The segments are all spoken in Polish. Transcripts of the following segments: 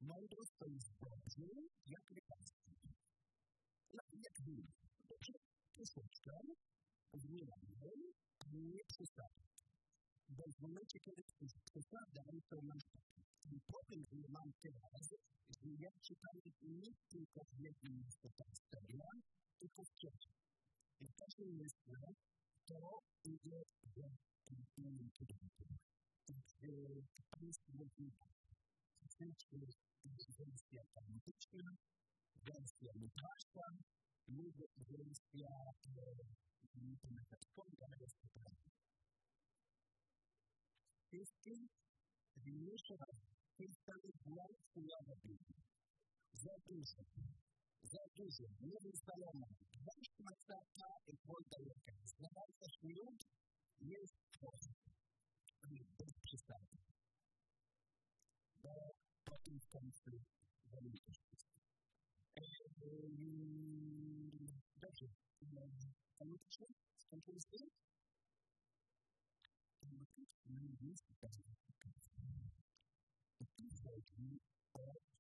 Mądrość to jest dobrze, jak lekarstwo. Jak wino. Dobrze, troszeczkę, zmieniamy, nie przesadać. Bo w momencie, kiedy przesadzam, to mam taki. Ten problem, który mam teraz, że ja czytam nie tylko w jednym miejscu ta historia, tylko w trzecim. I w każdym miejscu to idzie w innym kierunku. Państwo mówi, wersja tematyczna, wersja literacka, lub wersja metafizyczna, wersja prawna. Wszystkim jeszcze raz, to jest cały błąd chujowy. Za dużo, niewystalona, weź masaka i wolta jaka. Znalazłeś lud, jest twoje. Bez przystępu. Bo potem w końcu zamówi to wszystko. Dobrze. Tematyczne? Skończymy z tym? Tematyczne jest bardzo ciekawe. I tu chodzi o,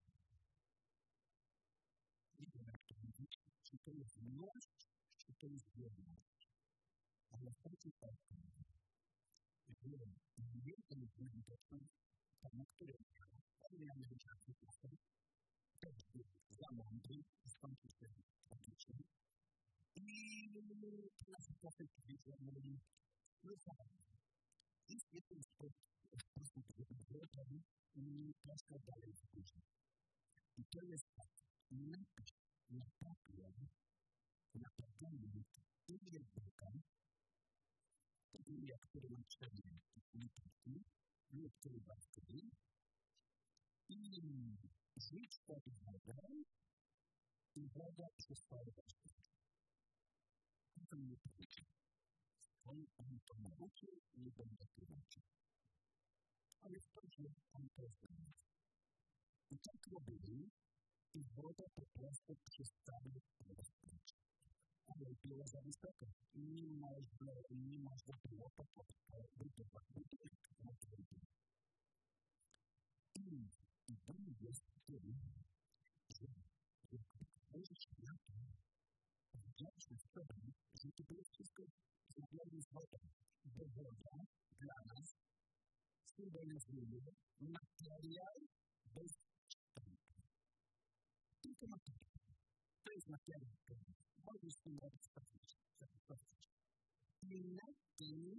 nie wiem jak to mówić, czy to jest miłość, czy to jest wierność. Ale chodzi o to, że jeden z widocznych, na którym miałem wyczerpy czasem, też był za mądry, skończył się tragicznie. I na sytuację powiedziałem, no fajnie. Jest jeden sposób, żeby wybrać i troszkę dalej wrócić. I to jest tak, napisz na papier, na pergament imię Boga, imię, które ma 4 literki, lub który baskry, i rzuć pod wodę i woda przestała się. To nie pójdzie. On to nauczył, nie będę tłumaczył. Ale w końcu on to znał. I tak robili i woda po prostu przestała rosnąć. Ale było za wysoko. Nie można było budować budynek na tym. I Bóg jest tym, że wchodzisz na to, wdzięczny w sobie, że to było wszystko zrobione z wodą. Bo woda dla nas symbolizuje materiał bez kształtu. Tylko materiał. To jest materiał. Możesz z tym robić stawić. I na tym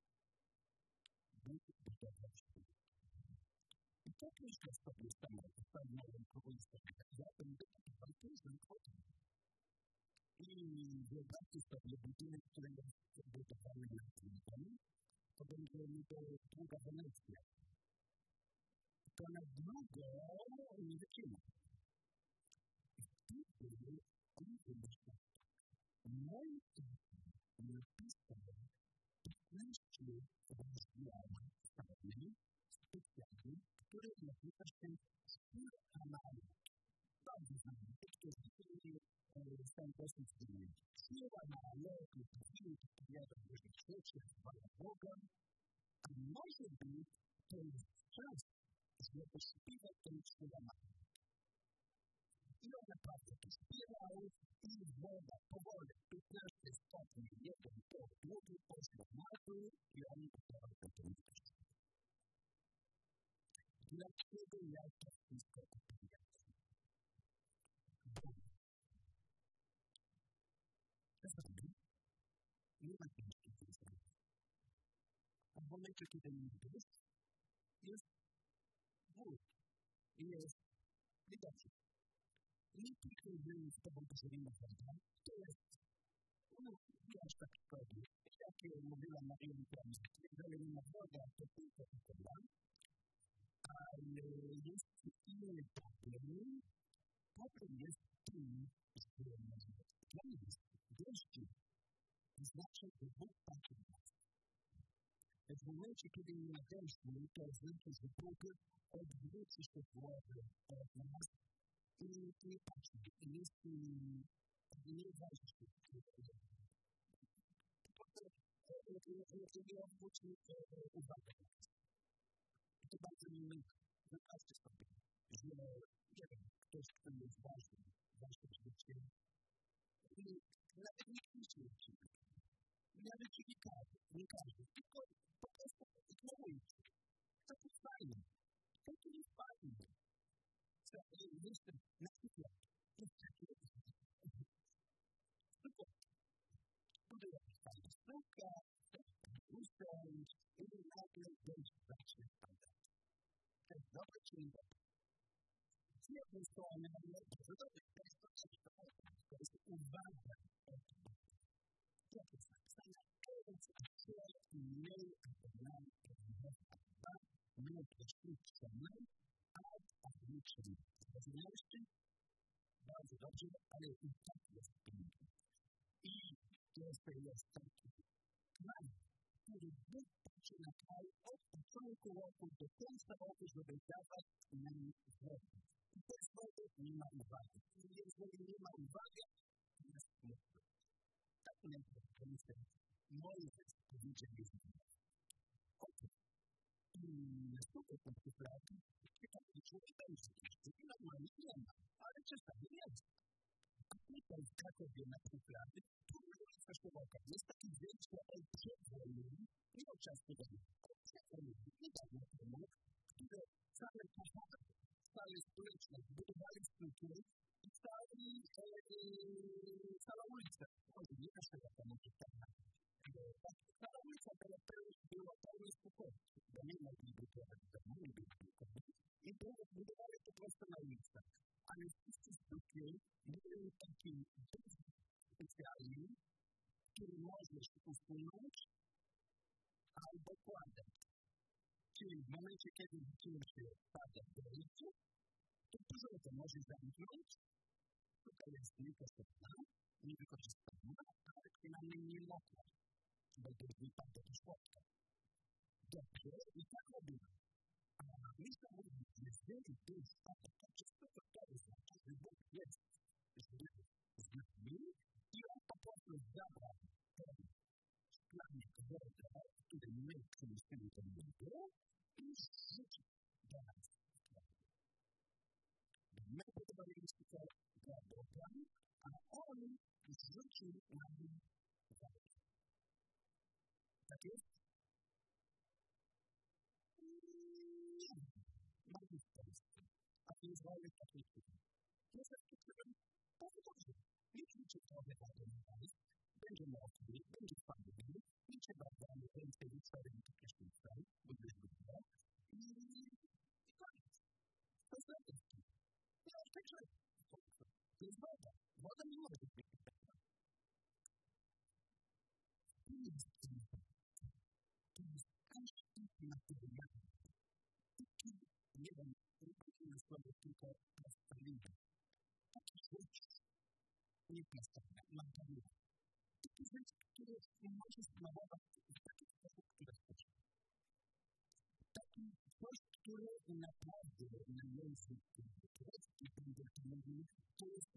Bóg budował świat. I tak myślę sobie stanąłem kogoś takiego. Ja będę taki walczyzm potem. I wyobraźcie sobie budynek, który jest budowany na tym, to będzie długa Wenecja. To na długo nie wytrzyma. I wtedy on wymyślał. Moi napisał 15 rozdziałów specjalnych, które nazywa się Spór Amalek. Bardzo znany, którzy są dosyć znani. Spór Amalek, który powiada, że świat się chwala Boga, a może być to jest czas, żeby śpiewać ten Spór Amalek. I on naprawdę to śpiewał i woda powoli 15 stopni, jeden to długi poszło na dół i on udawał do tego miejsca. Dlaczego ja to wszystko opowiadam? Bo czasami nie ma ciężkich wyzwań. A w momencie, kiedy jest ból i jest niedobrze. Nie tylko z tobą poszerzenia woda, to jest nie aż tak szkodzi. Jak mówiła Maria Luterana, jeżeli nie ma woda, to tylko woda. Ale jest inny problem. Problem jest tym, że dla nas deszcz znaczy, że Bóg patrzy na nas. W momencie, kiedy nie ma deszczu, to znaczy, że Bóg odwróci się głowę od nas i nie patrzy. Jest nieważne. Po prostu nie odwróci uwagę na nas. To bardzo miłe. Zobaczcie sobie, że coś, co jest ważne w życiu. I nawet nikt nie się nawet nie każdy, tylko po prostu ignorujcie. To jest fajne. To jest fajne. Jeszcze na przykład jest takie super. Tutaj jest fajna sztuka, usiąść i nagle będzie zacznie spadać. To jest dobre czy nie dobre? Z jednej strony mamy bardzo dobre, to jest to, co to jest uwaga. To jest napisane, mniej poświęcone, a liczne. Rozumieliście? Bardzo dobrze, ale i tak jest piękne. I jeszcze jest taki kraj, który Bóg patrzy na kraj od początku roku do końca roku, żeby dawać nam wodę. I bez wody nie ma uwagi. I jeżeli nie ma uwagi, to jest smutno. Tak najpierw Mojżesz powiedział Jezusowi. Otóż, następny punkt prawdy, taki człowiek będzie. I normalnie nie ma, ale czasami jest. A tutaj w Krakowie na przykład, tu jest festiwalka. Jest taki dzień, że przed wojną, nie od czasu do przed wojną, niedawno temu, które całe pochody, całe społeczność budowali struktury i cała ulica. Może nie każdego tam może tak. Cała ulica była pełna spokojna. Bo nie mogli budować domu, nie byli budować. I budowali po prostu na ulicach. Ale wszyscy struktury były takim specjalnym, który możesz usunąć albo kładać. Czyli w momencie, kiedy zaczyna się pada do ulicy, to dużo to może zamknąć. Tutaj jest niewykorzystana, ale przynajmniej nie mokła, bo to wypada do środka. Dobrze, i tak robimy. A myślę, że jeżeli to jest spadek, to wszystko to oznacza, że Bóg jest z nami i on po prostu zabrał ten szklanik wody, który my przynieśli do niego i rzucił do nas. My budowaliśmy to dla Boga, a on rzucił nam wodę. Tak jest? Nie. Mamy w Polsce. A w Izraelu tak jest. Jest tak, którym bardzo dobrze. Nie liczy trochę wody na nas, będzie mokry, będzie fajny, nie trzeba damy więcej wieczorem do prysznica, bo jest dobrze. I koniec. To jest radość. No, także to jest woda. Woda nie może być piękna. To jest każdy materiał. Taki jeden, na słowo tylko plastelina. Taki rzecz, nie plastelina, materiał. Taki rzecz, który może smarować w taki sposób, który chcesz. Taki coś, który naprawdę na język grecki będzie mówił, to jest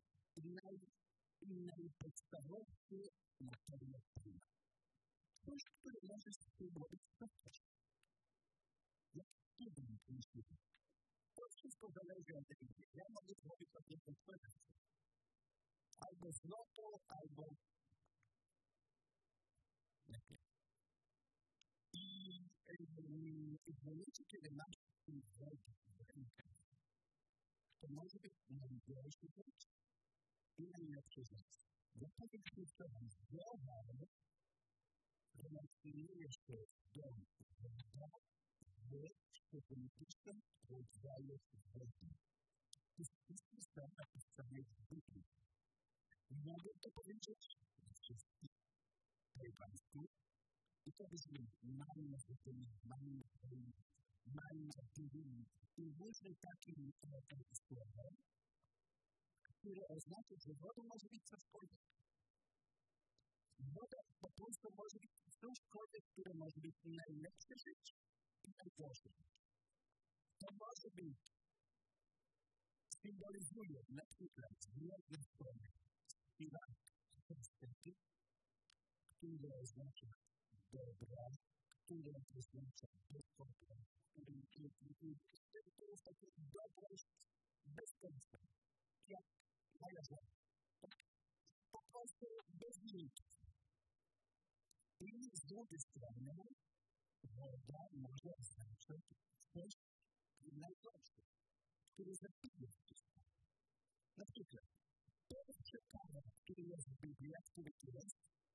najpodstawowszy materiał prima. Coś, który możesz spróbować spotkać. Jak trudno myślisz. To wszystko zależy od tego. Ja mogę zrobić sobie konferencję. Albo złoto, albo lepiej. I w momencie, kiedy masz wodę w rękach, to może być najgorszy rzecz i najlepszy rzecz. Bo powiem ci, że zdrowe relacjonujesz się do woda w specjalistycznym rodzaju wody. To wszystko są napisane w Biblii. Mogę to powiedzieć wszystkim Państwu i to brzmi manna i różne takie słowa, które oznacza, że woda może być cośkolwiek. Woda po prostu może być cośkolwiek, które może być najlepsze życie i najgorsze życie. To może być, symbolizuje na przykład jedne słowo, śpiewak, które oznacza dobra, które oznacza bezpłatne, które jest takie dobrość bez końca. jak należy. Po prostu bez limity. I z drugiej strony woda może oznaczać coś najgorsze, które zabije wszystko. Na przykład, pierwszy kara, który jest w Biblii, który tu jest,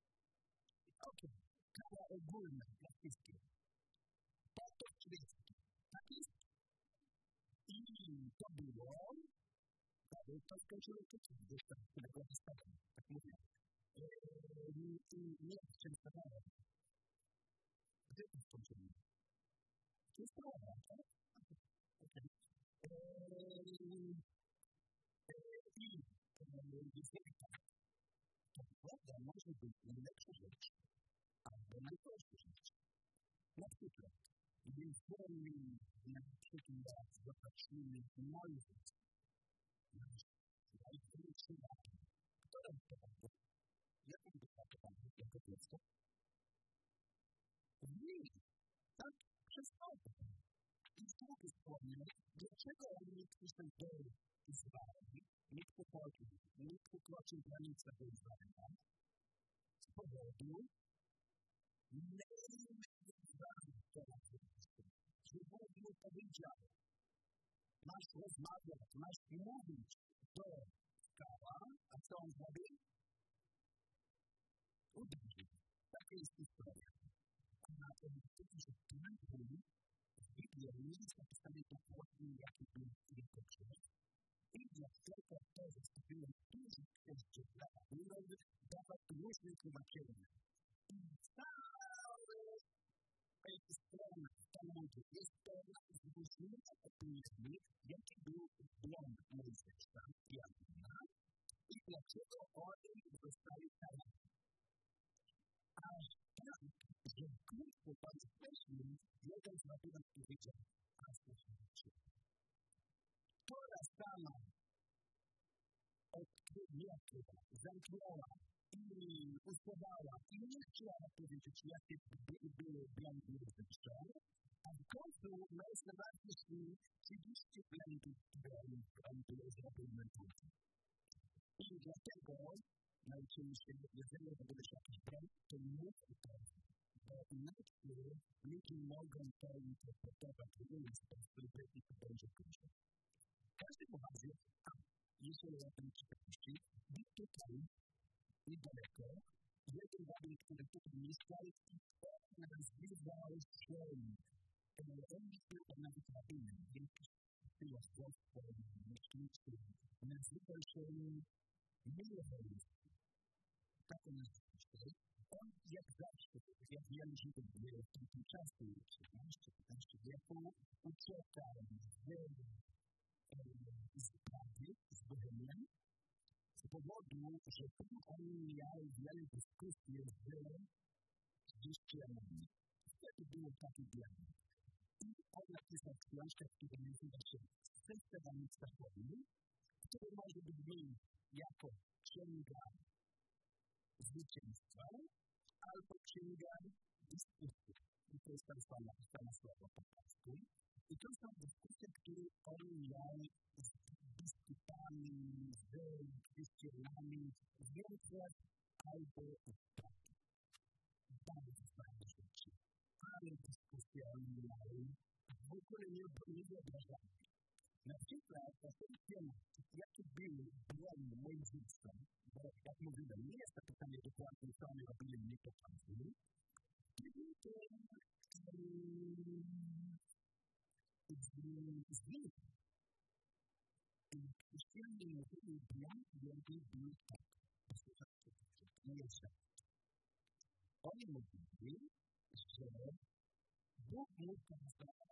kara ogólna dla wszystkich. Potop świecki. Tak jest. I to było, to skończyło to, gdzieś tam, którego wystawiam, tak mówię. Nie w czym starałem. Gdzie to skończyło? To jest prawa, tak? Okej. I jeżeli tak, to woda może być najlepsza rzecz, albo najgorsza rzecz. Na przykład, jeżeli na przykład zobaczymy Mojżesz, nasz największy naród, która wypadła, jaką wypadła jako dziecko? Nie, tak przez wodę. I z drugiej strony, dlaczego oni przyszli do Izraela, nie przekroczył granicę do Izraela? Z powodu że Bóg mu powiedział, masz rozmawiać, masz mówić do skała, a co on zrobił? Uderzył. Taka jest historia. A to, że Bóg w Biblii nie jest napisane dokładnie, jaki był jego grzech. I dlatego to zostawiłem dużo chrześcijan, dawać różne tłumaczenia. I całe strona Talmudu jest pełna z różnymi opiniami, jaki był błąd Mojżesza i Arona i dlaczego oni zostali karani. Aż tak, że krótko pan wcześniej jeden z rabinów powiedział, a słuchajcie, która sama odkryła, zamknęła i usuwała i nie chciała powiedzieć, jakie były błędy Mojżesza, a w końcu najzważniejszy 30 błędów, które były zrobione później. I dlatego nauczymy się, jeżeli robisz jakiś błąd, to mów to, bo inaczej ludzie mogą to interpretować w inny sposób i to będzie później. W każdym razie, jeżeli o tym czytaliście, był tutaj niedaleko, jeden rabin, który tutaj mieszkał, nazywał się, on nie był nawet rabinem, więc filozof, myśliwski, nazywał się Milewicz. Tak on nazywał się. On jak zawsze, jak wielu Żydów było w tamtym czasie, XIV wieku, uciekał z pracy, z Bohemian, z powodu, że oni mieli wiele dyskusji z chrześcijanami. Wtedy było takie dialog. I on napisał książkę, która nazywa się Serce Danictwa Wojny, który może brzmieć jako księga zwycięstwa albo księga dyskusji. I to jest ta sama słowa po polsku. I to są dyskusje, które oni mieli z biskupami, z chrześcijanami, z Niemców albo z Polski. Bardzo fajne rzeczy. Ale dyskusje oni mieli w ogóle nie wyobrażalne. Na przykład o tym temat, jaki był błąd Mojżesza, bo jak mówiłem, nie jest napisane dokładnie, co oni robili, nie potrafili, kiedy z nich i chrześcijanie mówili błąd, jaki był tak. Posłuchajcie, nie jest tak. Oni mówili, że Bóg mu kazał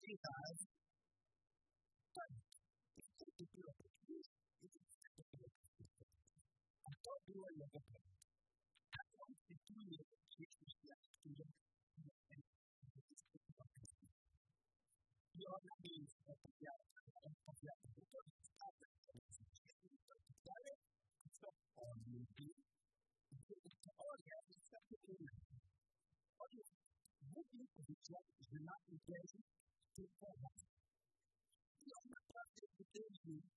sociedade tem cultura portuguesa e cultura portuguesa. A todo o ano da praia. A constituir que existe a cultura e obviamente é apoiado por todos os estados, só pode vir olha, isso é pequeno. Olha, muito objetos de natureza que podem. E é uma prática que tem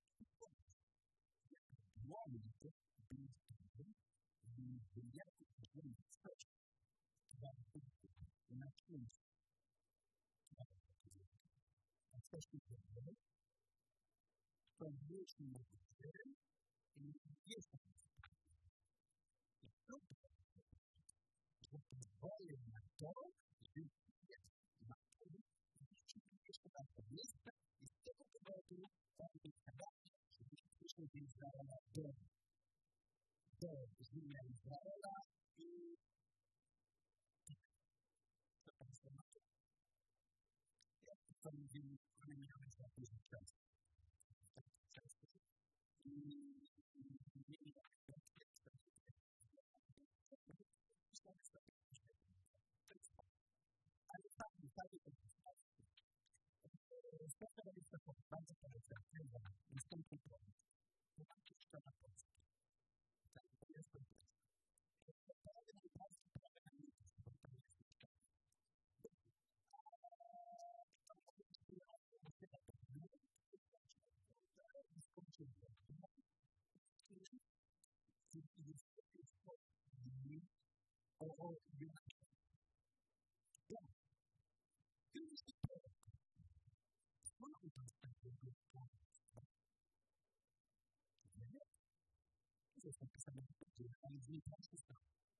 o homem de direto de gerações da nações as pessoas são mesmo uma coisa e isso olha na toa e na toa e na cabeça e todo o trabalho para o trabalho que deixa de usar a dor os milhares de dólares e a transformação estamos em milhares de aposentados especialista por base para a certeza, estão controlados. Por que está na posse? Está em todas as coisas. É para que não possa trabalhar muito por trás do que está. Você vai perder vocês estão pensando em tudo, mas não tem questão.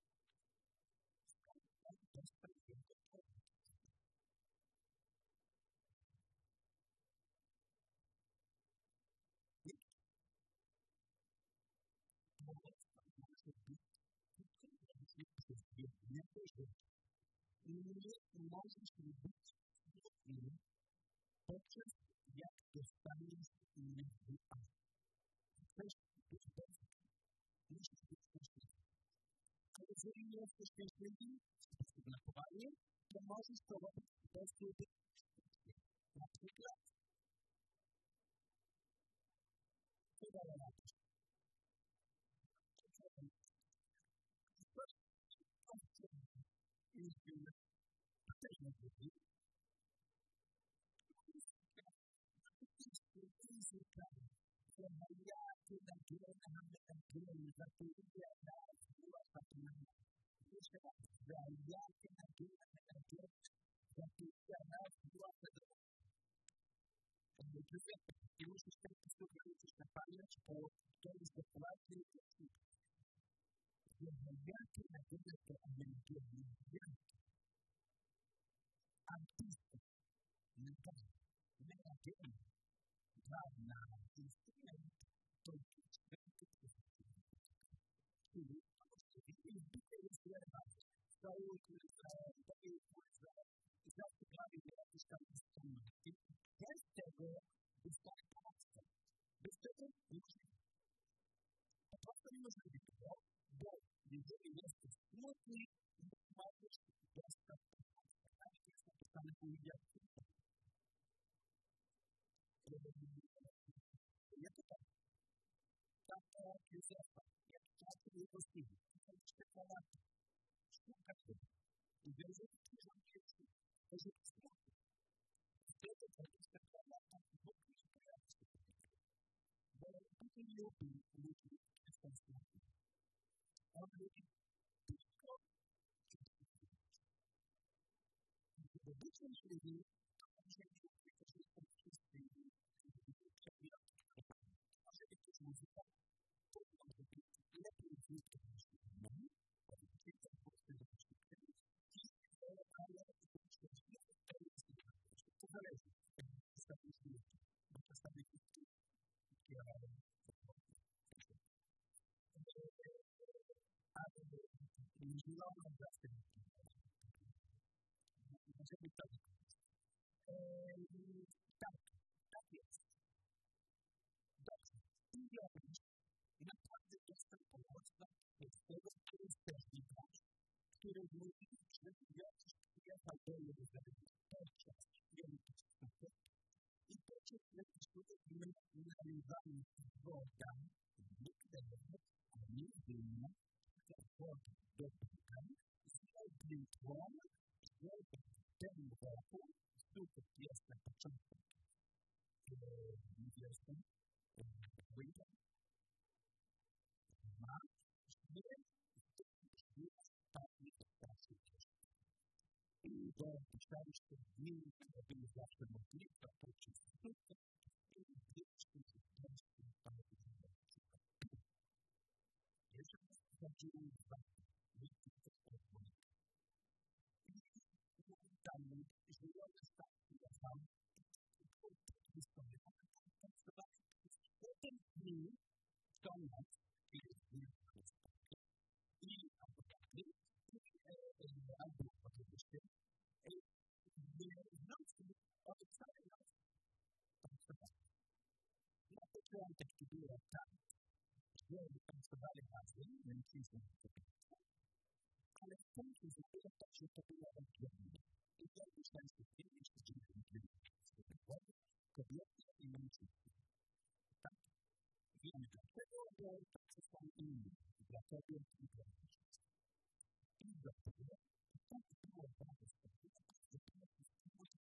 Nós distribuímos poucas e as questões individuais. Fazendo essas questões na Bahia, que nós estamos dentro da articulada. Toda a lata. Temos que ter pessoas capazes por todos os lados e que na vida que a gente vive artista negativa na instrumento todo saúde, já se claro que a questão esta agora está em casa. Esta é a próxima individual bom dizer isso não tem mais desta questão de política. E é total. Tanto que isso é possível. Você fala, escuta tudo. E veja que já é isso. Veja que isso é isso. Veja que isso é Tak jest. Dobrze. I robisz. Naprawdę jestem pomocna od tego, który chcesz wybrać, który mówi, że Jezus przyjechał do Jerozolimy podczas Wielkiej Skupy i podczas Wielkiej Skupy my nalewamy wodę w Nikodemie, a nie wino, ta woda do piwa, zrobił tłon, żeby w tym roku, znów jest na początku, wiosny, winter, ma, I to pisaliście dni, które były zawsze możliwe, podczas skutku, i wieczny związki bardzo jeżeli chodziło o wielkie spotkanie. I tam żyjące stawki, ja sam, potem dni, to noc, jest wielkie spotkanie. I abogaty, albo oczywiście, w nocy, od całej nocy, na początek to było tak, że pracowali razem, mężczyzna i kobieta, ale w końcu zrobiło tak, że to było oddzielne. I to już najszybciej, jeśli kobiety i mężczyzna. Tak? Wiemy dlaczego, bo tacy są inni, dla kobiet i dla mężczyzn. I dlatego, tak było bardzo sprawiedliwe, że to jest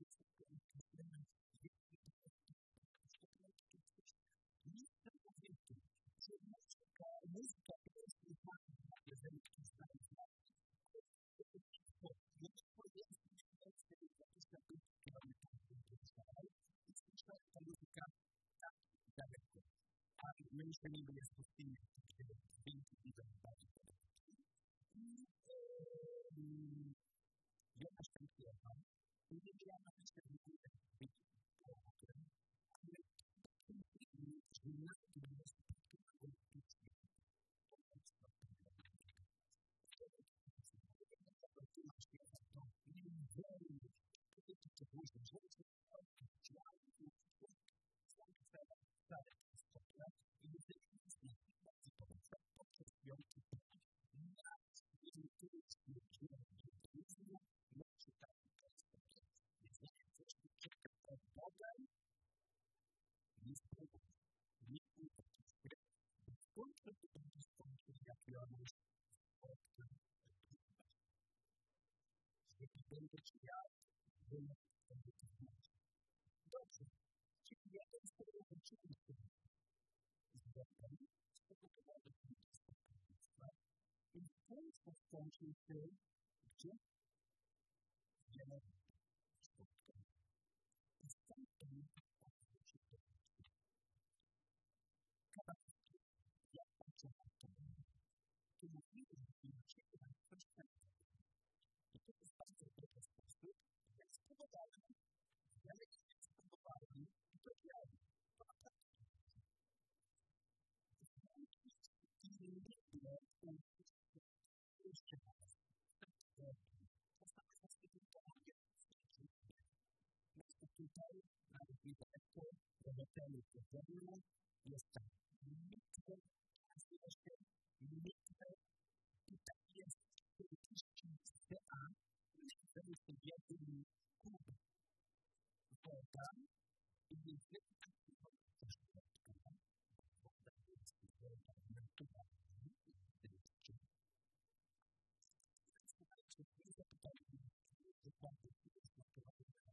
muzyka to jest uznana, jeżeli ktoś znajdzie znaki. Jeżeli powiedzmy, że jest jakiś taki kierunek, i słyszałem ta muzyka tak daleko. A my jeszcze nie jest pustynia, gdzie dźwięki idą bardziej daleko. Ja też tam śpiewam. I nie wiedziałam, że to jest być połokiem, ale że na tym jest Będę ci ja, będę ci znać. Dobrze, czyli ja to jest tego oczywiste. Zgodnie z tego powodu społeczeństwa i w końcu skończył się, gdzie? Wiele spotkań. I stąd to nie się to. Kawałki, jak patrzę na to, to mówimy, że na ciebie na coś takiego. I to jest bardzo dobry sposób, jak spowodowałem, i to działa. To naprawdę. I nie było jeszcze raz. To samo kwestia tylko tutaj, nawet niedaleko, do hotelu Podziemne, jest tam mitwę, i tak jest politycznie CA, to jest jedyny klub woda i niestety woda też spotkana, woda jest woda naturalna i dystryktyczna. Słuchajcie, nie zapytajmy, że bardzo jest naturalna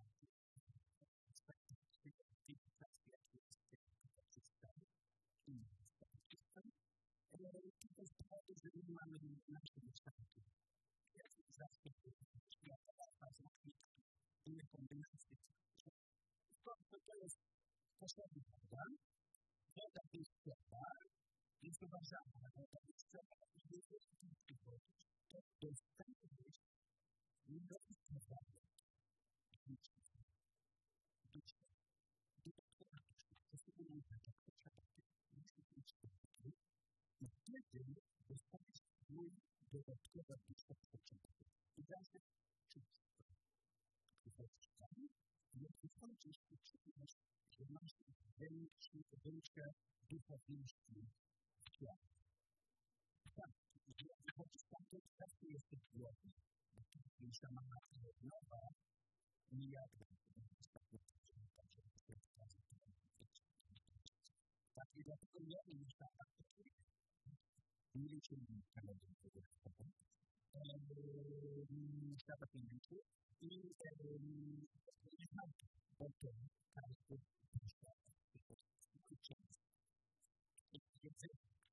cywilizacji, jak jest system i system. To jest powód, że nie mamy naszej kształtu. Jak zawsze światowa faza inne kombinacje. To jest potrzebna woda. Woda jest ciepła, jest uważana, woda jest ciepła i jest w wody. To jest tak, że jest niedopuszczalne. Duszka. To jest nie tak, to trzeba musi być taki. I wtedy dostaniesz swój dodatkowy duszka potrzebny. I zawsze czysto. Przychodzisz tam, jeśli chodzisz i czujesz, że masz większe duchowieństwo w ciele. Tak, jeżeli chodzisz tam, to zawsze jesteś głodny. Jeśli mama jest nowa, nie jadła. Tak, i dlatego ja nie myślałem, nie liczyłem tego świata pieniędzy i nie znam potem każdy świata. Mój czas. I wiedzę,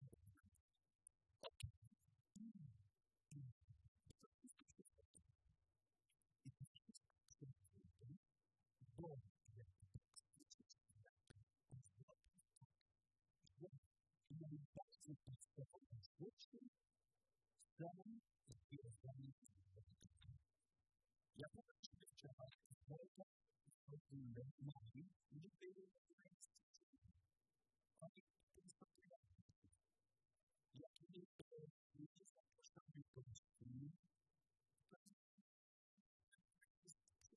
ja powiem ci, że trzeba wolno mówić, nie było oni postępują. Jak nie zapraszamy do wspólny, to jest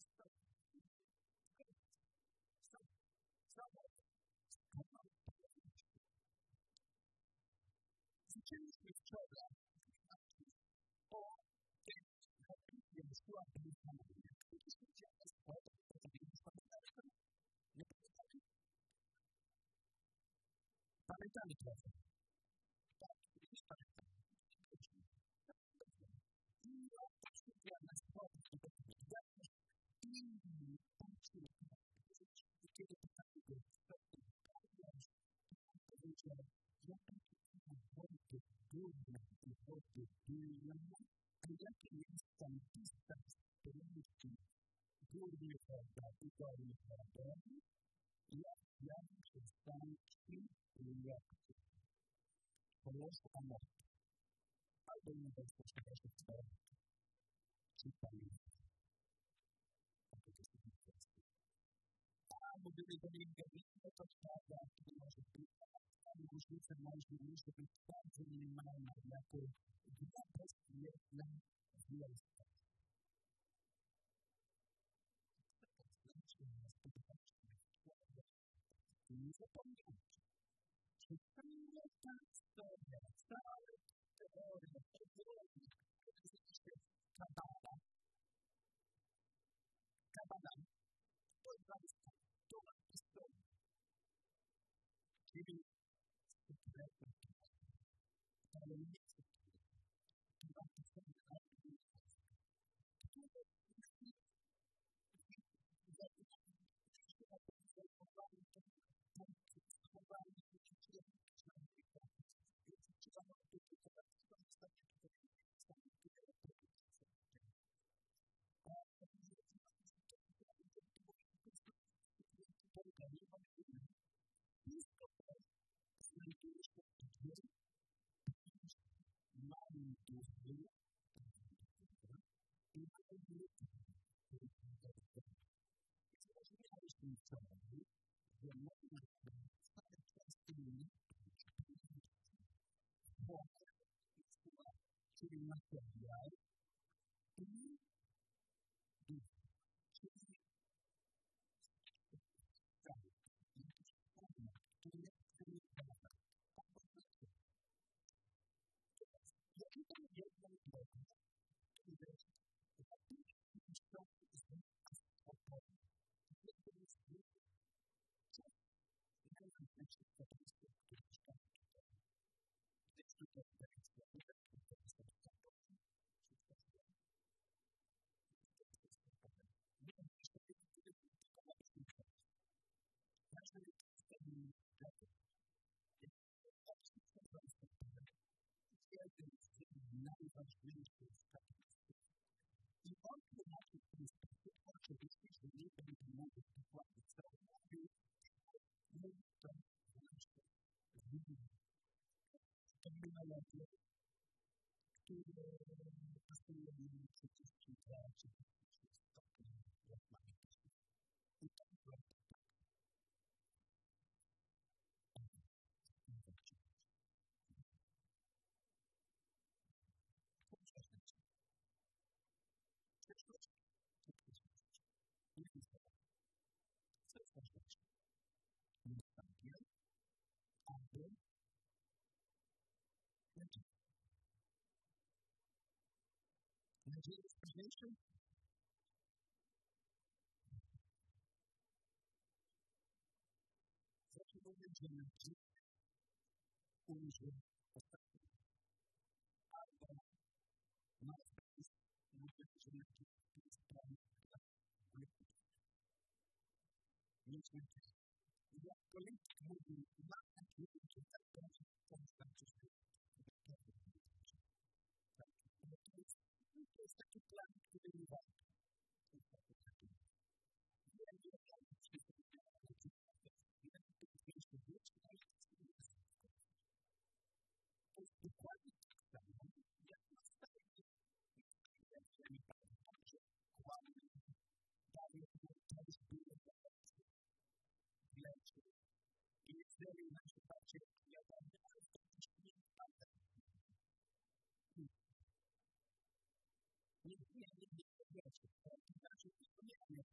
zaczęliśmy wczoraj o tym, jak była wyznania. Kiedyś widziałem sport, nie pamiętamy? Pamiętamy trochę. Tak, już pamiętamy. No, ja na sport, i kiedy pytamy go, powiedział, ja wody górne, a jaki jest tam dystans pomiędzy górnie woda i dolnie wodą, jak zjawił się stan lekki. Polska moc. Albo nie bezpośrednio się stoi. Czy pamięta? Albo gdyby do niego nie to prawda, to może być różnica może być bardzo minimalna, jako grubość jedna wielka. Nie zapomnijcie, że cała ta historia, cała teoria, teoria, kabala, to jest historia. Czyli ale nie chcę. Chyba to są czyli materiał i duch, czyli cały. To jest wygląda. Jaki to jedno drogę, które najważniejsze statystyki. I on tłumaczył ten sposób, oczywiście, że nie będzie mógł dokładnie co mówił, mówi to właśnie terminologię, które pasuje mi przecież czy stopnie, jak mamy i to jest właśnie tak. disposition. Zaczynamy dzielić użyć ostatnio. Albo na wpis może dzielić sprawy Myślę, jak kolegi mówią, na takie rzeczy, tak to wystarczy, że to jest taki plan, który nie warto. To jest taki plan. Wiem, że to jest to jest dokładnie tak samo, jak nastawienie nie pamiętam, że kłamie daje to jest było lepsze. I jeżeli na przykład ja tam to też nie pamiętam. Nie wiecie. To znaczy, to nie wiem.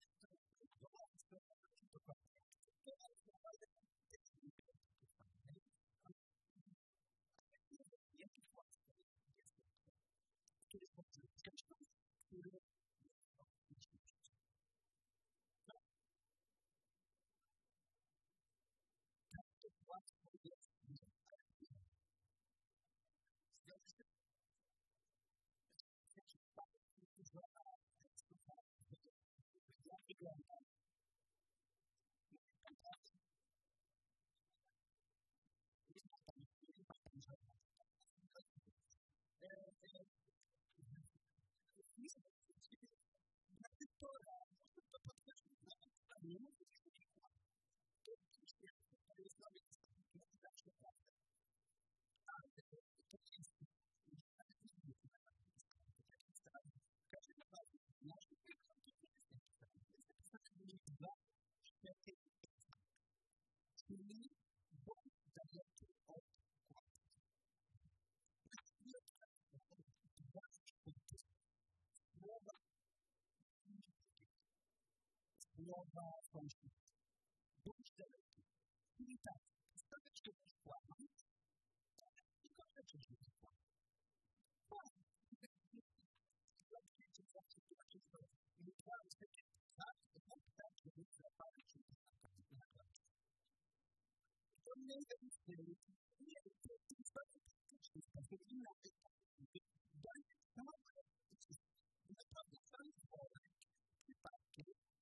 Słowa fałszywe. Bądź daleki. I tak, stawiać się w kłamie, i kończyć się w kłamie. Kłamie. Zobaczcie, co się dzieje. I kłamie takie, tak, że nie zapali się na końcu. To nie jest nie to jest fantastyczny sposób inaczej. Daje całe, naprawdę cały worek przypadki,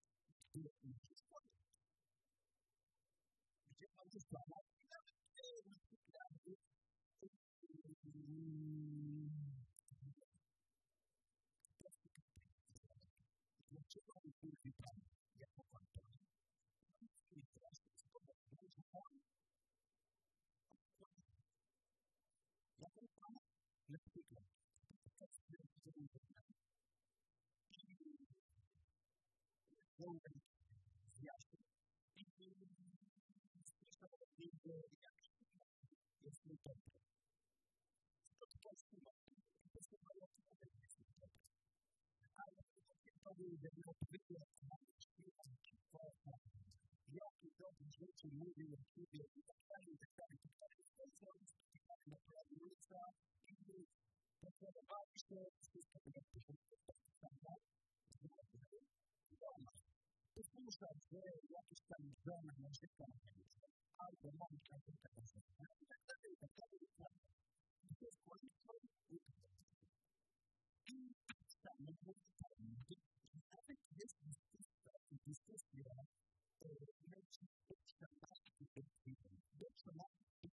gdzie mam wysłana i nawet dlaczego on mówi tam jako kontrolę? I teraz jest powodowane, że on jaką pan na przykład to jest zjaśnił i słyszał jak jest niedobry. To jest to jest ale to był jedno odpowiednie jakie dobre rzeczy mówił o siebie i tak dalej, i tak dalej. To jest spotkanie na ulica i potrzebowali się wszystko tego posłuchać, że jakieś tam żona narzeka na ulicę, albo mamka narzeka na żonę, i tak dalej, i tak dalej, i tak dalej. I to jest kłamstwo i tak samo nawet jest dyskusja leci od standardu do standardu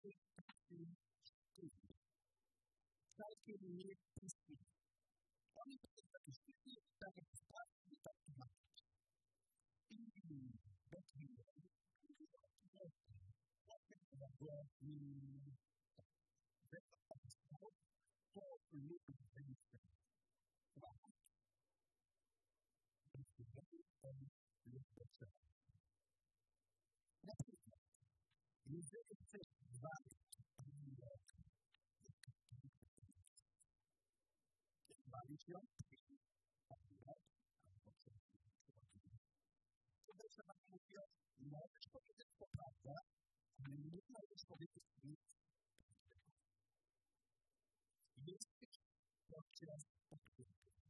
całkiem niepustych. Oni to jest takie sztuki, takie sprawki, takie marki. I takie to lubi zajście. Jeżeli chcesz zwalić ją, to trzeba mówić, możesz powiedzieć to prawda, ale nie możesz powiedzieć nic. Jesteś podczas podróży.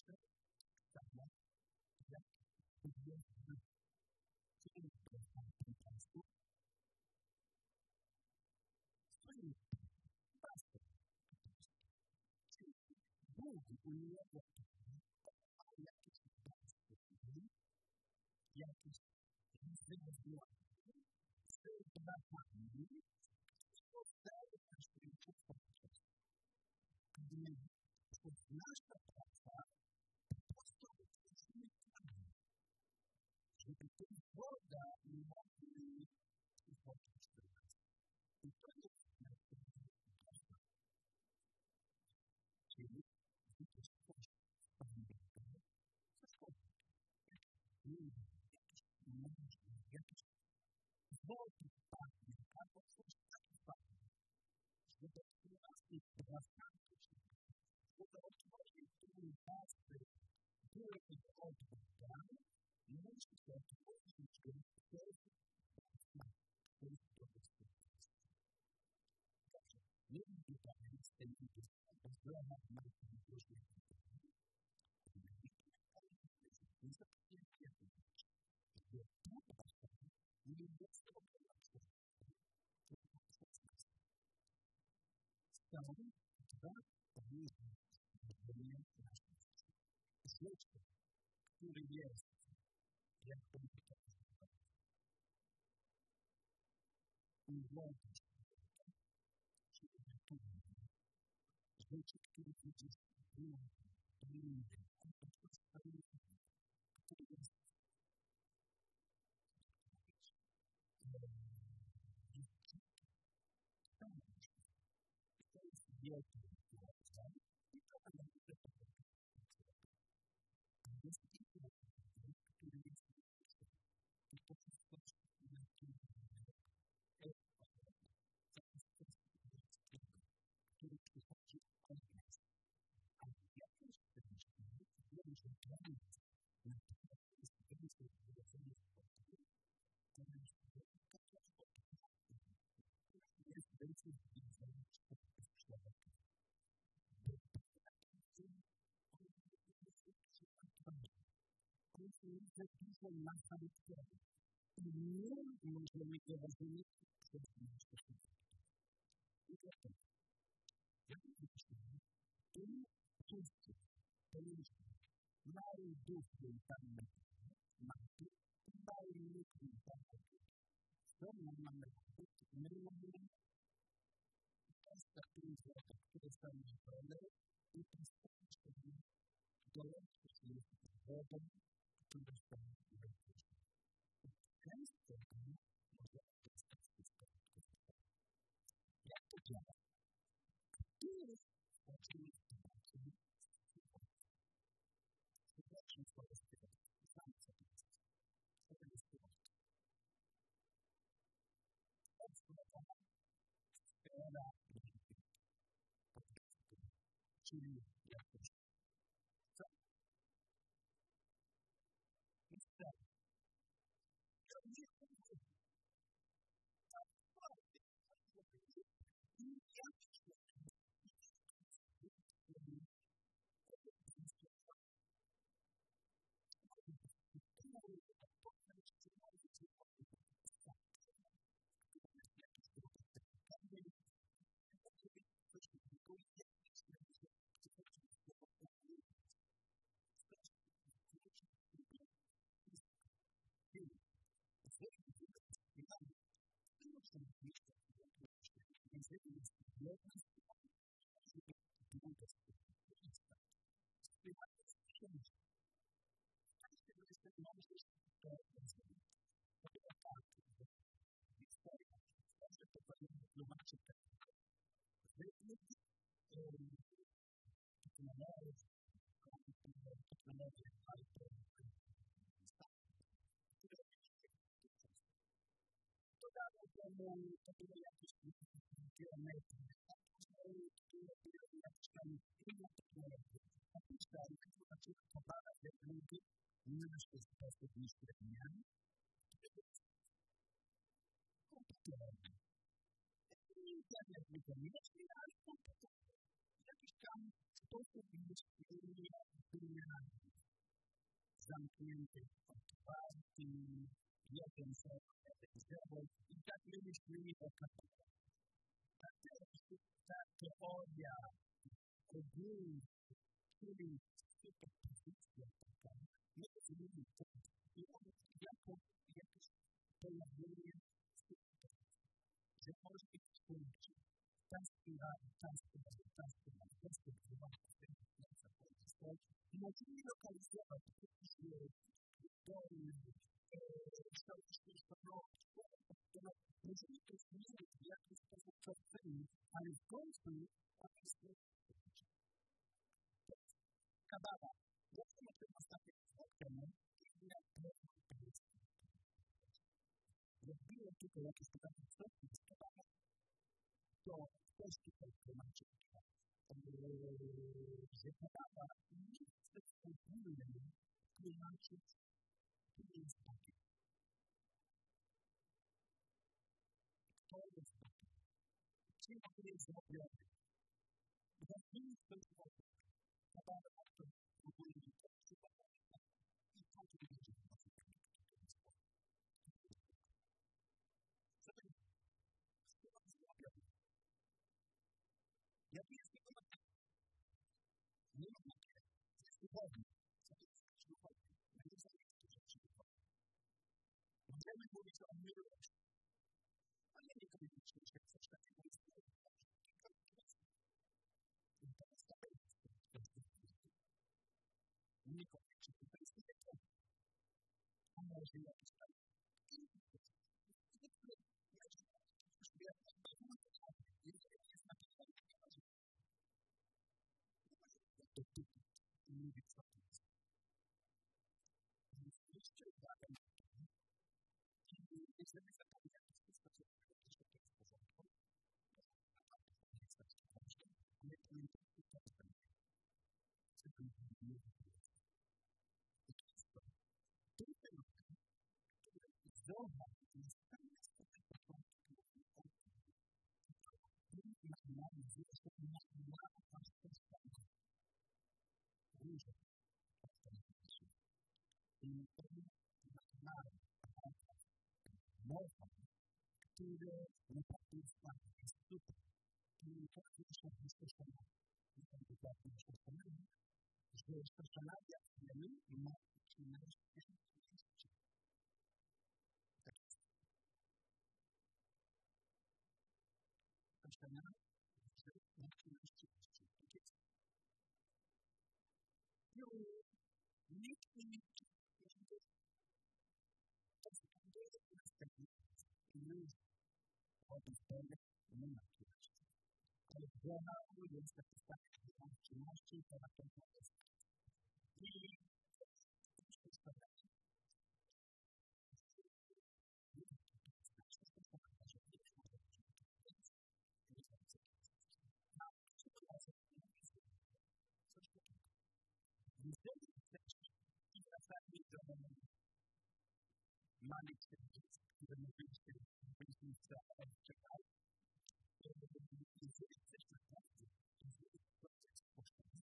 sama jak powiedzmy ciężko po prostu swoim pasem. Bóg ulewa jakieś pasy, jakieś wyzwanie, wyzwanie, powstaje na świecie podczas, gdy nasza praca po prostu jesteśmy tam, żeby tę wodę mogli uchodzić do nas. I to jest najważniejsza praca. Czyli widzisz coś pamiętnego, zachować. Jakieś wody padnie, albo coś padnie. Żeby otworzyć pracę, żeby otworzyć tę pasy, które jest odbudane, musi się otworzyć nie wiem, tutaj z tej inwestycji, bo zdrowa ma się różne pytania. Nie zapomnijcie, że ta pasja nie jest obowiązkowa. Są dwa różne zdrowie nasze życie. Życie, które jest, jak powiedział, uwodzi się, czyli naturalne. Życie, które widzisz inny, który jest to jest wielki rozdział i to będzie jest inny, który jest i to jest coś, który przychodzi od nas. A w jakimś sensie wiem, że dla nas na przykład jest więcej wydarzenia spotkania, to jest więcej wydarzenia człowieka. To jest dużo na charakterze. I nie możemy go rozumieć przez nasze życie. I dlatego, jak myślimy, tym wszyscy, mały duch był tam maty, mały duch był tam maty. Co my mamy robić? My mamy postawić rzeczy, które są na dole i postawić sobie dołączyć się z wodą, które są na górze. Często może dostać wszystko. Jak to działa? Tu jest oczywiście zobaczmy swoje styl. Sam sobie jest. To jest styl. Odsuwana sfera czyli jakoś. Co? I wtedy. To nie chodzi. Tak bardzo. I jakoś. To było jakieś kilometry, które jakieś tam inne technologie. A później, kiedy zaczęły popadać te drugi, nasze sposób myślenia, komputerowy. Internet niekoniecznie, ale komputerowy. Jak tam sposób myślenia kryminalny, zamknięty, otwarty, jeden zero i tak my myślimy o kapitale. Ta teoria ogólna, czyli superpozycja taka, my rozumiemy to jako jakieś pojawienie superpozycji, że może być funkcja. Ta spirala, i możemy lokalizować jakieś dolne, możemy to zmienić w jakiś sposób przestrzeni, ale w końcu ona jest kabala. Ja chcę o tym ostatnio spotkaniu, jak robiłem tylko jakieś pytanie, co jest kabala, to ktoś tutaj tłumaczy, że kabala nie chce ogólnie tłumaczyć, co jest takie. To jest takie. Czym to jest zrobione? Bo nie jest to zrobione. Kabala to ogólnie to jest zrobione. I to jest zrobione. Co to jest? Co to jest zrobione? Jaki jest tego materiał? Nie ma materiału. To jest duchowny. Co to jest duchowny? My nie znamy tych rzeczy duchownych. Możemy mówić o miłości. Ale nie koniecznie, że coś takiego jest duchowne. I to jest to jest duchowne. Niekoniecznie to jest duchowne. A może jakiś tam mówić co to jest. Więc zwróćcie uwagę na to, i jeżeli zapomniałem w sposób, że to jest w porządku, to nie jest taki ważny, ale pamiętajcie to, co to jest. To jest fenomen, który wzorza jest pewien sposób początku na zresztą na paszportach. Różne paszporty. I pewien mowa, które naprawdę jest fajne, jest super. I to jest bezpośrednio. I to jest bezpośrednio, że bezpośrednio wiemy, ma 13 tysięcy. Tak jest. Bezpośrednio, że ma 13 tysięcy. Tak jest. Nikt nie nie ma kierowcy. Ale generalnie jest taki fakt, że mam 13 i to na pewno jest. I to jest sprawa. Jeżeli chcesz i wracamy do manych serwic, które mówiliśmy w czekał, jeżeli chcesz naprawdę, jeżeli proces poszedł,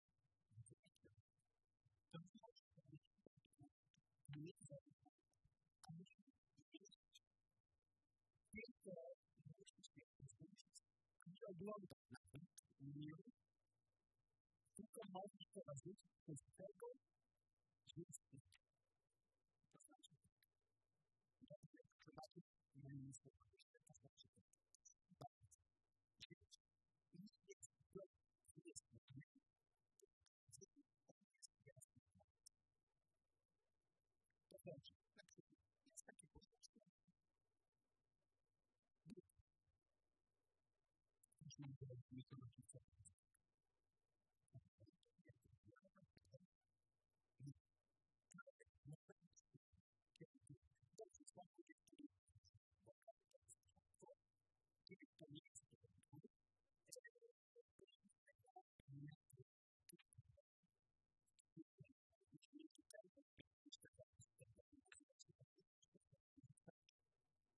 to możesz powiedzieć, że nie zaufam, ale tylko musisz się pozwolić, nie oglądać nawet miru, tylko możesz prowadzić przez tego, że jest piękny. To znaczy, że zobaczyć na innym sposobie, to znaczy, bardzo. I jest to, jest piękny, to znaczy, na przykład, jest takie poczucie, że nie to rodzice.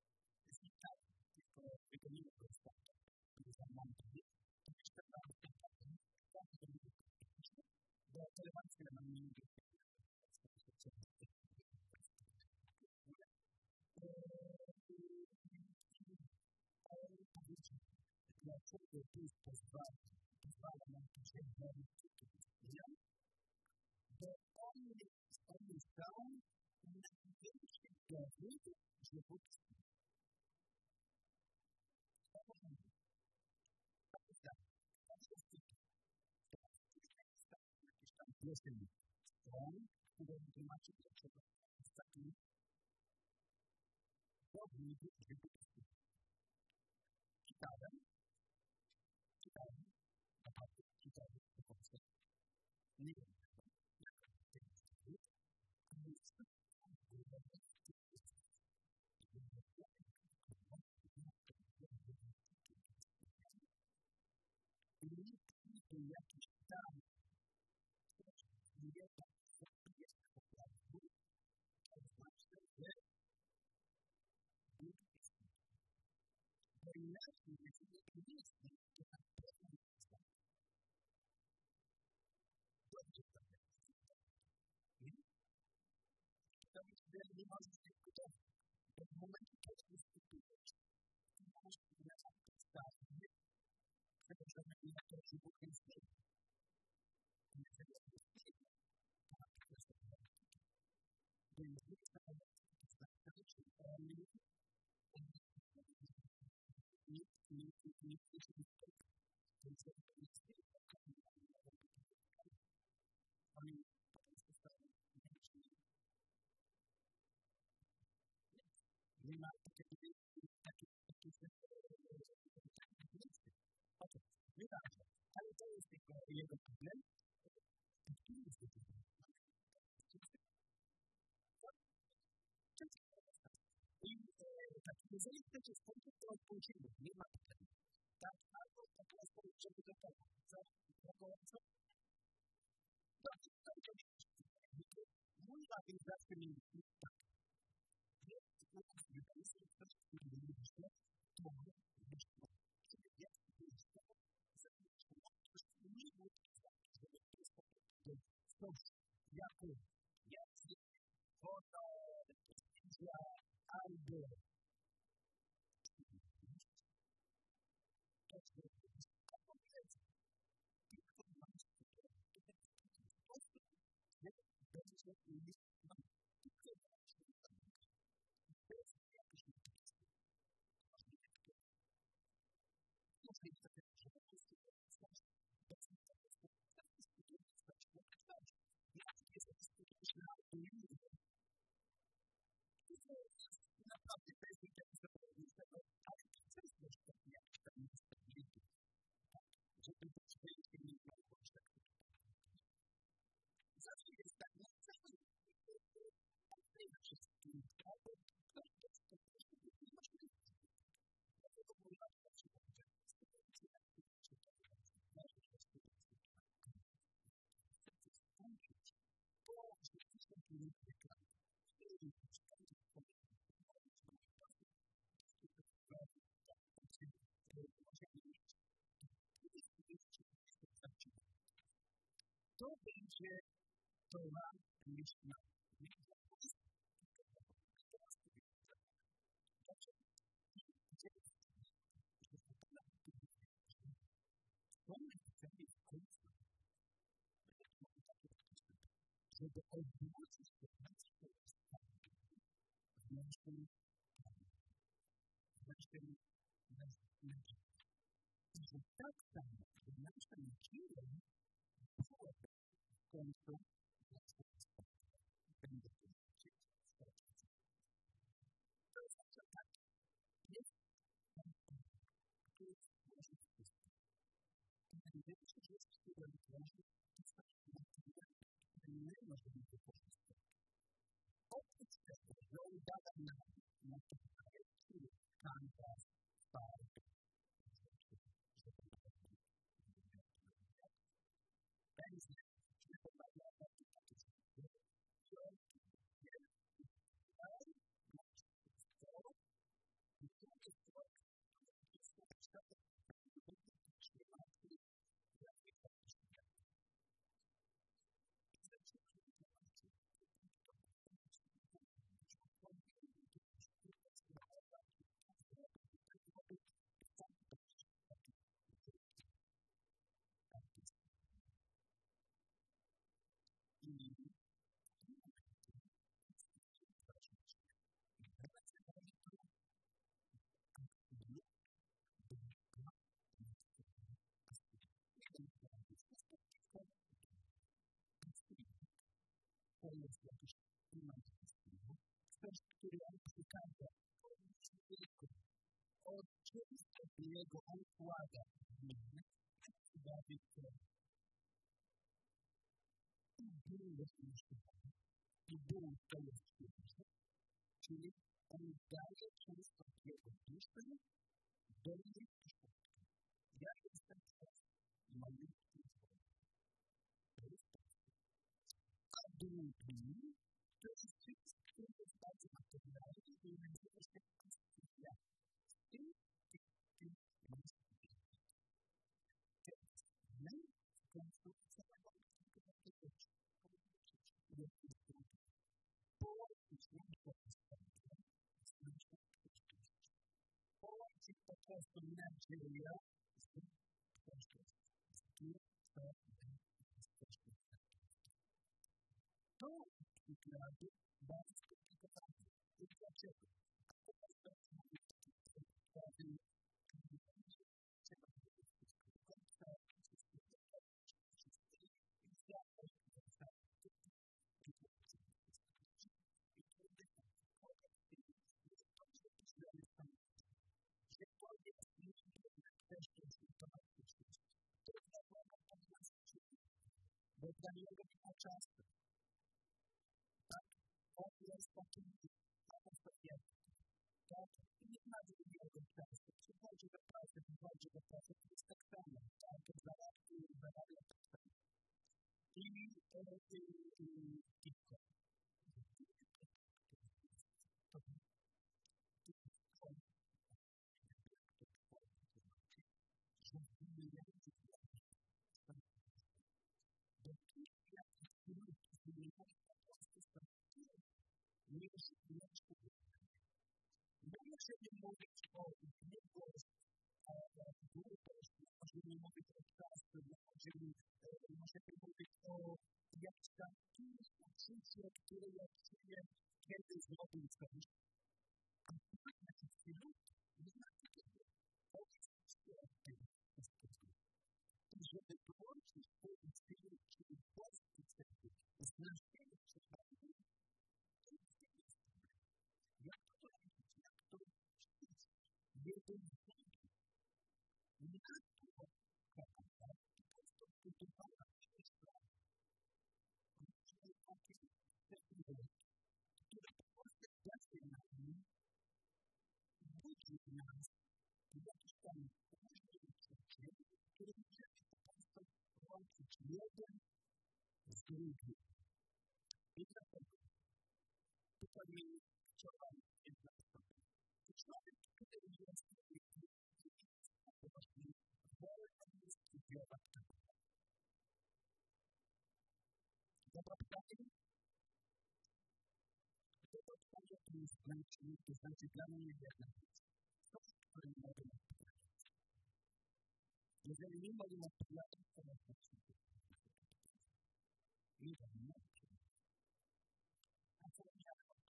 Tylko nie jest to, że jest nam to jeszcze relevancję na mnie dlaczego Bóg pozwala nam to się zrobić, bo On dał największy dowód, że Bóg istnieje. Jakiś tam piosen stron, które wytłumaczy, dlaczego jest taki dowód, że Bóg istnieje. Czytałem, naprawdę czytałem po prostu. Nie wiem, jak to jest dowód, ale jest to i jakiś tam nie tak jest po prostu, to znaczy, że Bóg istnieje. Bo inaczej, jeśli nie istnieje, to na pewno nie istnieje. Dobrze to jest. To jest, że nie możesz dyskutować. Bo w momencie, kiedy dyskutujesz, to możesz na podstawie przepraszamy na to, że Bóg istnieje. Jeżeli on istnieje, to ma kwestię dialektyki. Bo jeżeli to znaczy, że on nie istnieje. To jest jak to istnieje, to oni po prostu stają więksi. Nie ma takiej nieważne, ale to jest tylko jego problem. Kim jest to problem? I tak, jeżeli chcecie skończyć, to odpowiedzieć, nie ma problemu. Tak, albo po prostu, żeby do tego, co? Dobrze, to oczywiście. Mój wapień zawsze mi mówi tak. Jest coś, który lubicie, to wyszło. Czyli jest wyjście, że nie mówi tak, że jest po prostu coś, jako jest, foto, zdjęcia, albo to jest albo wiedzę. Tylko masz będzie mieć tylko bez jakiejś motywacji. Może jest takie, że po prostu bez motywacji. Tak dyskutujemy z Państwem, jak jest dyskutujesz na autonomii. To jest naprawdę bez tego, ale to jest też taki jakiś tam niestabilny. Żeby to przejście nie było tak. Zawsze jest tak, no zawsze jest wszystkim, ale to jest po prostu niemożliwe. Dlatego mówię na przykład, że sytuacja skończyć, bo rzeczywiście nie wygląda. I skończyć to będzie Torah Mishnah. Żeby odwrócić to nasze ustawienie w naszym nadziei. I że tak samo, że nasza nadzieja byłaby w końcu nasze ustawienie. Będzie to żyć w to jest tak. Jest to jest nasze wszystko. I największa rzecz, która wytworzy, to jest nie możemy wykorzystać. Oprócz tego, że on bada na to projekty, kanwas, farby, pędzle, że to ma na takie rzeczy, że on casa od często jego układa dla Wiktorii. I był rozpuszczony. I był to rozpuszczony. Czyli on daje często jego duszę do mnie przyszłości. Ja jestem przez malutki człowiek. To jest to. A drugi to jest wszystko, który jest bardzo materialny i nazywa się konstytucja. I masz teraz my konstytucja połączyć po prostu nadzieję z przeszłością. To przykłady bardzo skomplikowane. I dlaczego? To jest bo dla niego nie ma czasu. Tak? On jest takim atmosferą. Tak? Nie ma drugiego czasu. Przychodzi do pracy, to jest tak samo. Tak? Zarabia tak samo. I tylko. Możemy mówić o długości, możemy mówić o czasie, możemy mówić o jakimś tam uczuciu, które ja czuję, kiedy zrobię coś. A na chwilę nie ma takiego. To jest świetne. I żeby połączyć te cele, czyli polskie cele, z naszymi celami, to jest jak to robić, jak to czynić, jeden z drugim. Nie to kochana, po prostu budowana przez prawo. Czyli takie technologie, które po prostu daje nam, budzi nas jakiś tam różny przyczyn, który możemy po prostu łączyć jeden z drugim. I dlatego tutaj chciałam jedna osoba. Człowiek, który jest właśnie wolny studiować tego. Dobra pytanie? Dobra pytanie to znaczy dla mnie jedna rzecz. To, który nie mogę odpowiadać. Jeżeli nie mogę odpowiadać, to nie mogę odpowiadać. Nie mogę odpowiadać. A co ja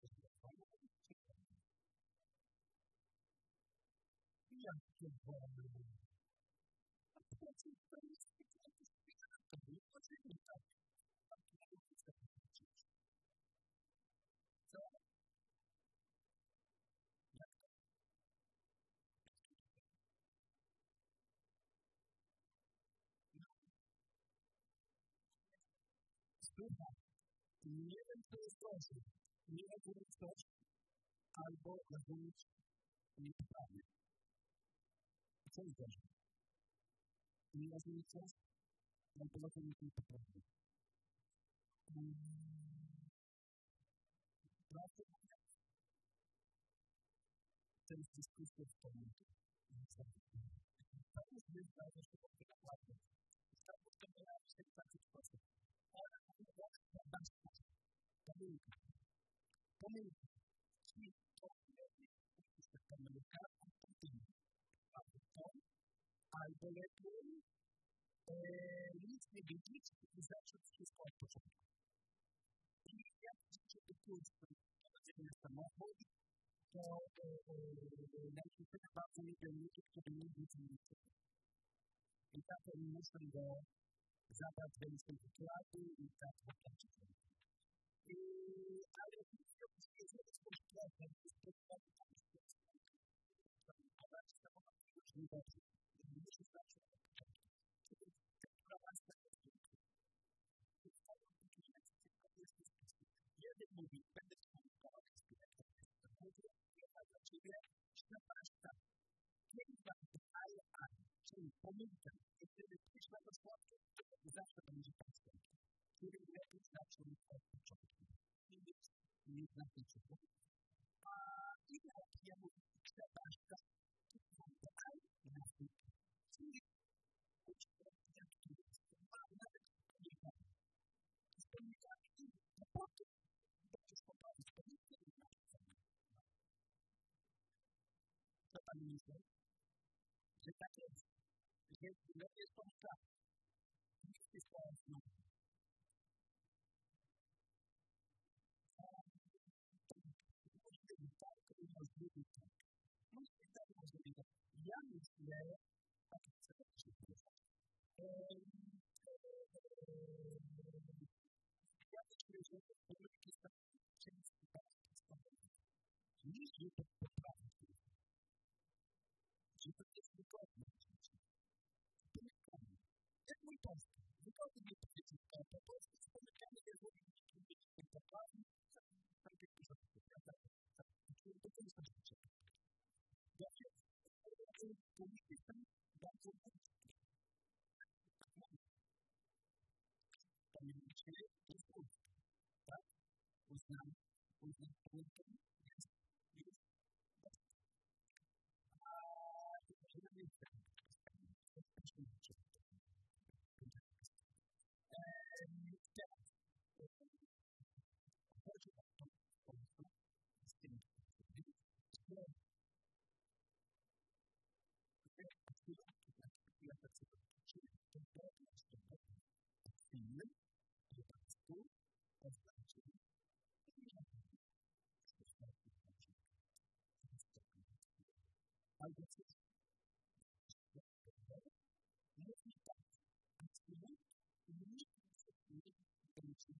jakie wolne. A powiedz mi, to jest jakieś to nie potrzebne tak. Tak nie mogę sobie powiedzieć. Co? Jak to? Słuchaj, nie wiem, co jest gorzej. Nie rozumieć coś, albo rozumieć niepoprawnie. Co jest gorzej? Nie rozumieć coś, albo rozumieć niepoprawnie. Prawda mówiąc, to jest dyskusja w pamięci. To jest wyzwanie, że to jest naprawdę. Tak, to miała się w taki sposób. Ale to jest pomyłka. Czyli to jest pomyłka, a potem albo lepiej nic nie wiedzieć i zacząć wszystko od początku. I jak chcecie wypływać na samochód, to najczęściej bardzo lubię ludzi, którzy nie widzą niczego. I tak oni muszą go zabrać do innego składu i tak wypłacić. ale wszystko jest bezpośrednie, jest bezpośrednie. A bardzo samochód już nie będzie. Nie musi znaczy na początku. Czyli która łaska jest piękna. Więc tak jest bezpieczny. Jeden mówi, będę komunikował z pięknym. Mówię, jedna dla ciebie, przepraszam. Kiedy wam daje ani, czyli pomyłkę, i wtedy przyszła do słodkie, to zawsze będzie następny. Który lepiej zaczął od początku. Nie znaczy czego. A jak ja mówię, przepraszam, to wam daje na tym. Czyli uczę, jak to jest. A nawet nie wiem. Z pomnikami i potem będziesz poprawić pomnikę i na to. Co pan myśli? Że tak jest. Że lepiej jest pomnikami. Nic jest teraz nowe. Ja myślę, tak chcę przyjść. Ja myślę, że pomyłki są często bardzo stanowe. Nie, że to poprawi. Że to jest wygodne. Pomykamy. Jak mój polski. Wygodny nie powiedzieć, ale po polsku z pomykami jest nie poprawi. Tam jest dużo prawda? To jest to rzeczy. Dobrze. Pomyki są bardzo krótkie. Pamiętajcie, to jest krótkie. Tak? Uznam pomykę jest albo coś mówi tak, a wtedy nikt nie będzie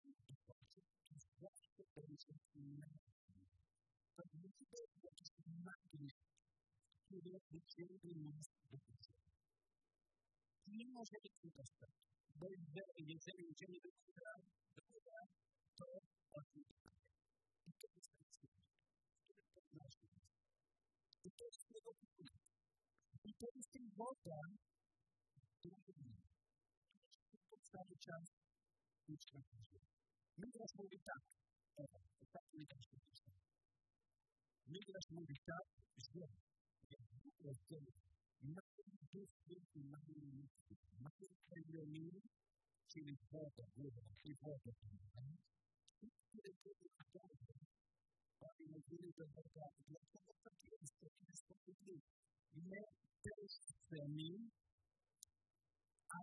zawsze będzie inaczej. To musi być jakiś magnes, który wyciągnie nas do życia. Nie może być niedostępny, bo jeżeli idziemy do góra, to odbywa. I to jest tak cudowne, który podnosi nas. I to jest tego typu. I to jest ten woda, który cały czas uczta żyje. Midrasz mówi tak, tak Midrasz mówi tak. Midrasz mówi tak, że Bóg rozdzielił mały duch i mały ludzki. Mały Elohim, czyli woda, góra i woda. I które były dobre, oni mówili do Boga, dlaczego tak jest, to jest sprawiedliwe. My też chcemy, a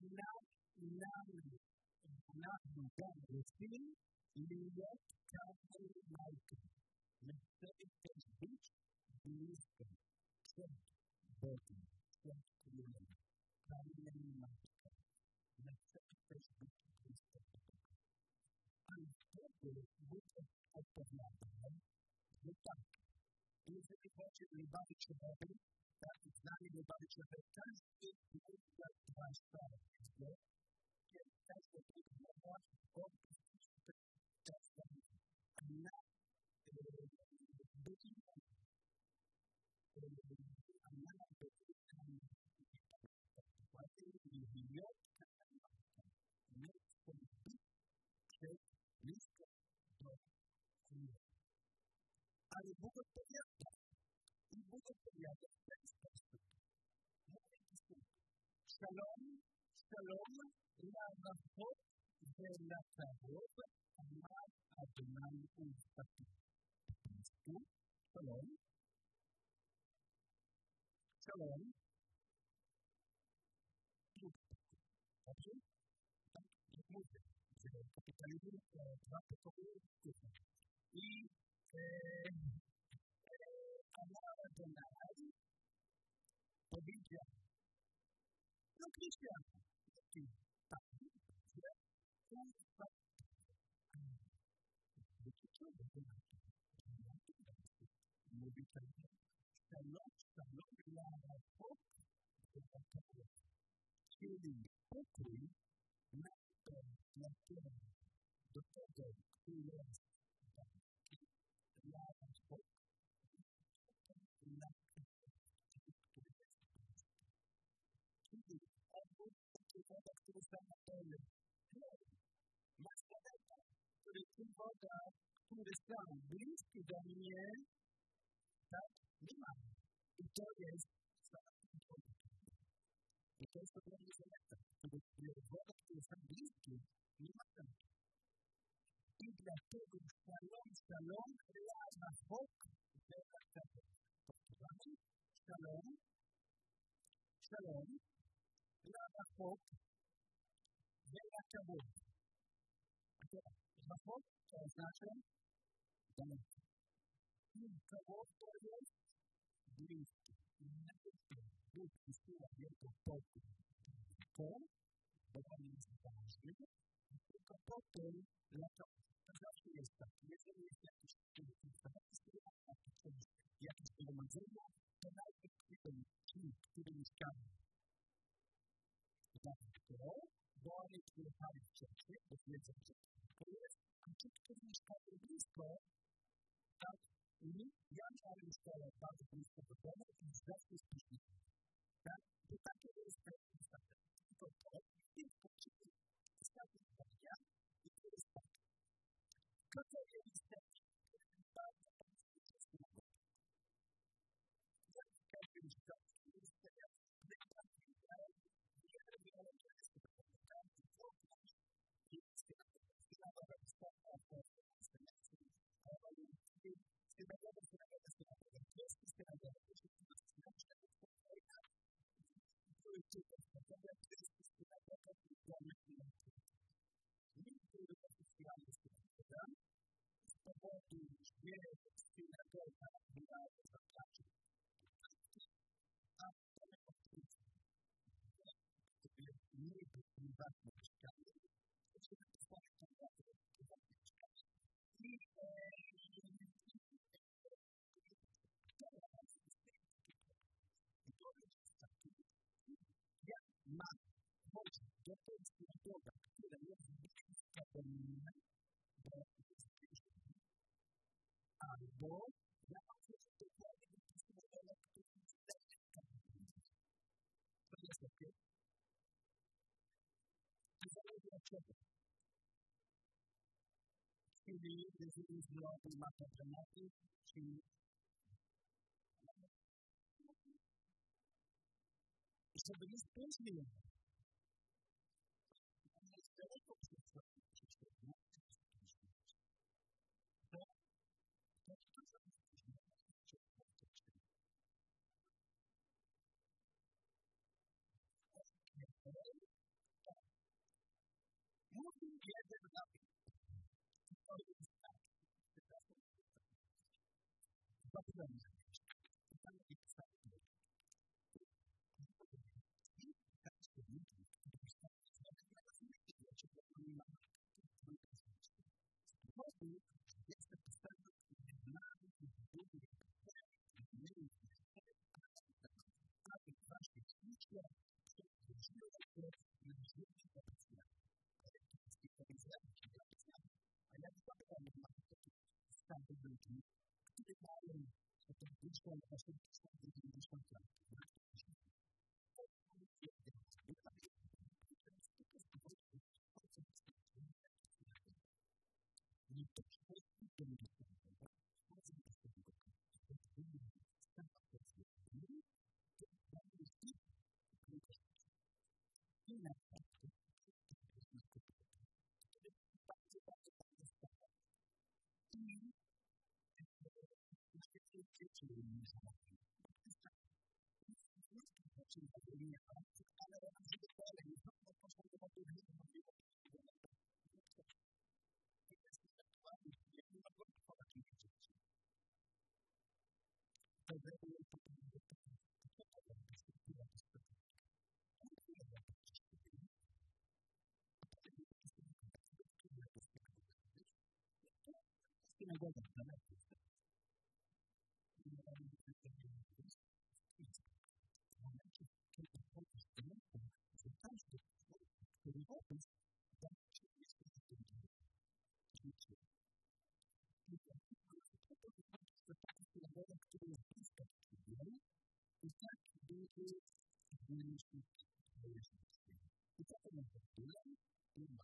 nam dany syn jest każdy majka. My chcemy też być blisko przed Bogiem, przed Królem, każdym majka. My chcemy też być blisko Boga. Ale wtedy Bóg odpowiada, że tak, jeżeli chodzi o bawić się Bogiem, tak zdanie do bawić się Bogiem, każdy Bóg jak dwa stare, kiedy każdy Bóg ma ale Bóg odpowiada. I Bóg odpowiada w ten sposób. Mówi Bóg, Shalom, Shalom, La'avot, Ve'la'kavod, Amar Adonai U'Fati. Shalom, Shalom, dobrze? Tak, jak mówię, że kapitalizm dwa pokoje kuchni. I Amar Adonai powiedział, no Krystian, tak, że U'Fati. pokój nastąpi dla tego, który jest dla nas Bóg, dla Czyli obóz człowieka, który sam na pełnym. Masz człowieka, który sam bliski do mnie, tak? Nie ma. I to jest I to jest ogromny zaleta, który woda, który sam bliski, nie ma tam. I dlatego szalom, lama Bóg, szalom, lama Bóg, wyraża Bóg, to oznacza daleko. I Bóg to jest bliski. Bóg wysyła wielką pokój. To, bo on jest ważny, tylko potem, to zawsze jest tak. Jeżeli jest jakiś zgromadzenie, to najpierw ci, którzy mieszkają. Dlatego, bo oni przyjechali wcześniej, bo wiedzą, że to jest, a ci, którzy mieszkają blisko, tak, ja miałem szkołę bardzo blisko do domu i zawsze spóźniłem. Tak? Bo takie jest tylko to, i poczyty ostatnie zdania i to jest tak. To jest bardzo słowo. Jak każdy jest tak, jest teraz albo ja mam coś dokładnie wypisanego, który to jest ok. To zależy od czego. Czyli jeżeli zrobił mapę tematu, czyli żeby nie spóźnił. Jest daleko Mówił jeden napis. To jest tak. Zapomnę. To jest tak. Jest napisane na budowie aby właśnie liczba przechodziła się na życie obecne. A ja zapytam, mam taki stary ludzi, którzy mają taką liczbę właśnie 90 lat. Nie to wszystko to nie muito difícil hoje. E para como problema, uma.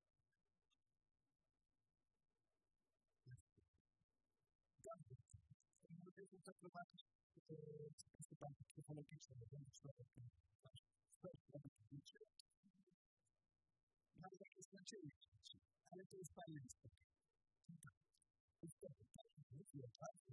Uma vez eu estou provando participar porque eu falei que isso é uma história que mas a questão é isso. Ela tem experiência. Então, o que eu faço